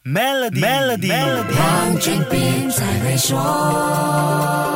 Melody， 黄俊斌才会说。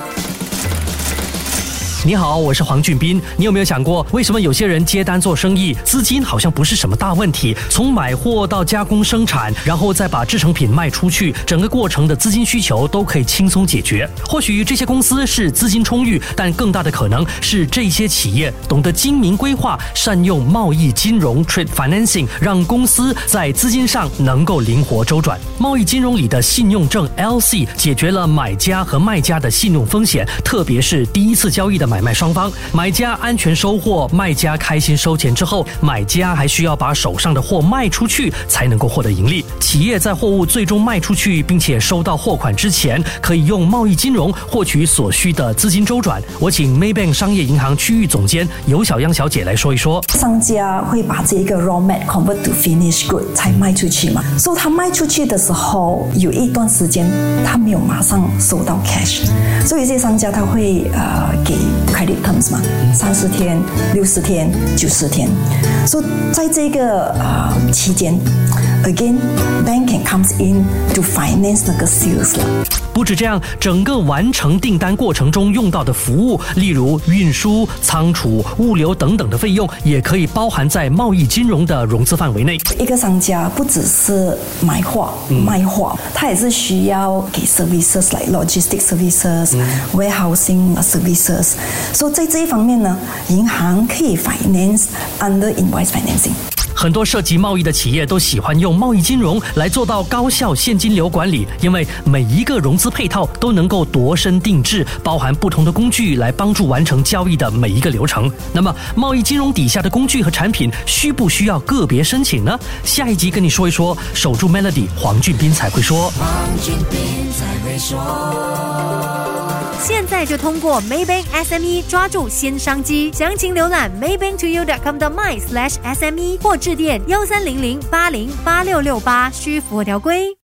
你好，我是黄俊斌。你有没有想过，为什么有些人接单做生意，资金好像不是什么大问题？从买货到加工生产，然后再把制成品卖出去，整个过程的资金需求都可以轻松解决。或许这些公司是资金充裕，但更大的可能是这些企业懂得精明规划，善用贸易金融 （trade financing）， 让公司在资金上能够灵活周转。贸易金融里的信用证 LC 解决了买家和卖家的信用风险，特别是第一次交易的买卖双方，买家安全收货，卖家开心收钱之后，买家还需要把手上的货卖出去才能够获得盈利。企业在货物最终卖出去并且收到货款之前，可以用贸易金融获取所需的资金周转。我请 Maybank 商业银行区域总监尤小央小姐来说一说。 商家会把这个 raw mat convert to finished good 才卖出去嘛，所以他卖出去的时候有一段时间他没有马上收到 cash， 所以有些商家他会给 credit terms 嘛，30天、60天、90天，所以在这个期间 again bank can comes in to finance 那个 sales 了。 不止这样，整个完成订单过程中用到的服务，例如运输、仓储、物流等等的费用，也可以包含在贸易金融的融资范围内。 一个商家不只是买货、卖货，他也是需要给 services like logistic services、warehousing services。所以在这一方面呢，银行可以 finance under invoice financing。 很多涉及贸易的企业都喜欢用贸易金融来做到高效现金流管理，因为每一个融资配套都能够度身定制，包含不同的工具来帮助完成交易的每一个流程。那么，贸易金融底下的工具和产品需不需要个别申请呢？下一集跟你说一说，守住 Melody， 黄俊斌才会说。 黄俊斌才会说。 现在就通过 Maybank SME 抓住新商机，详情浏览 maybanktoyou.com.my/SME 或致电1300808668，需符合条规。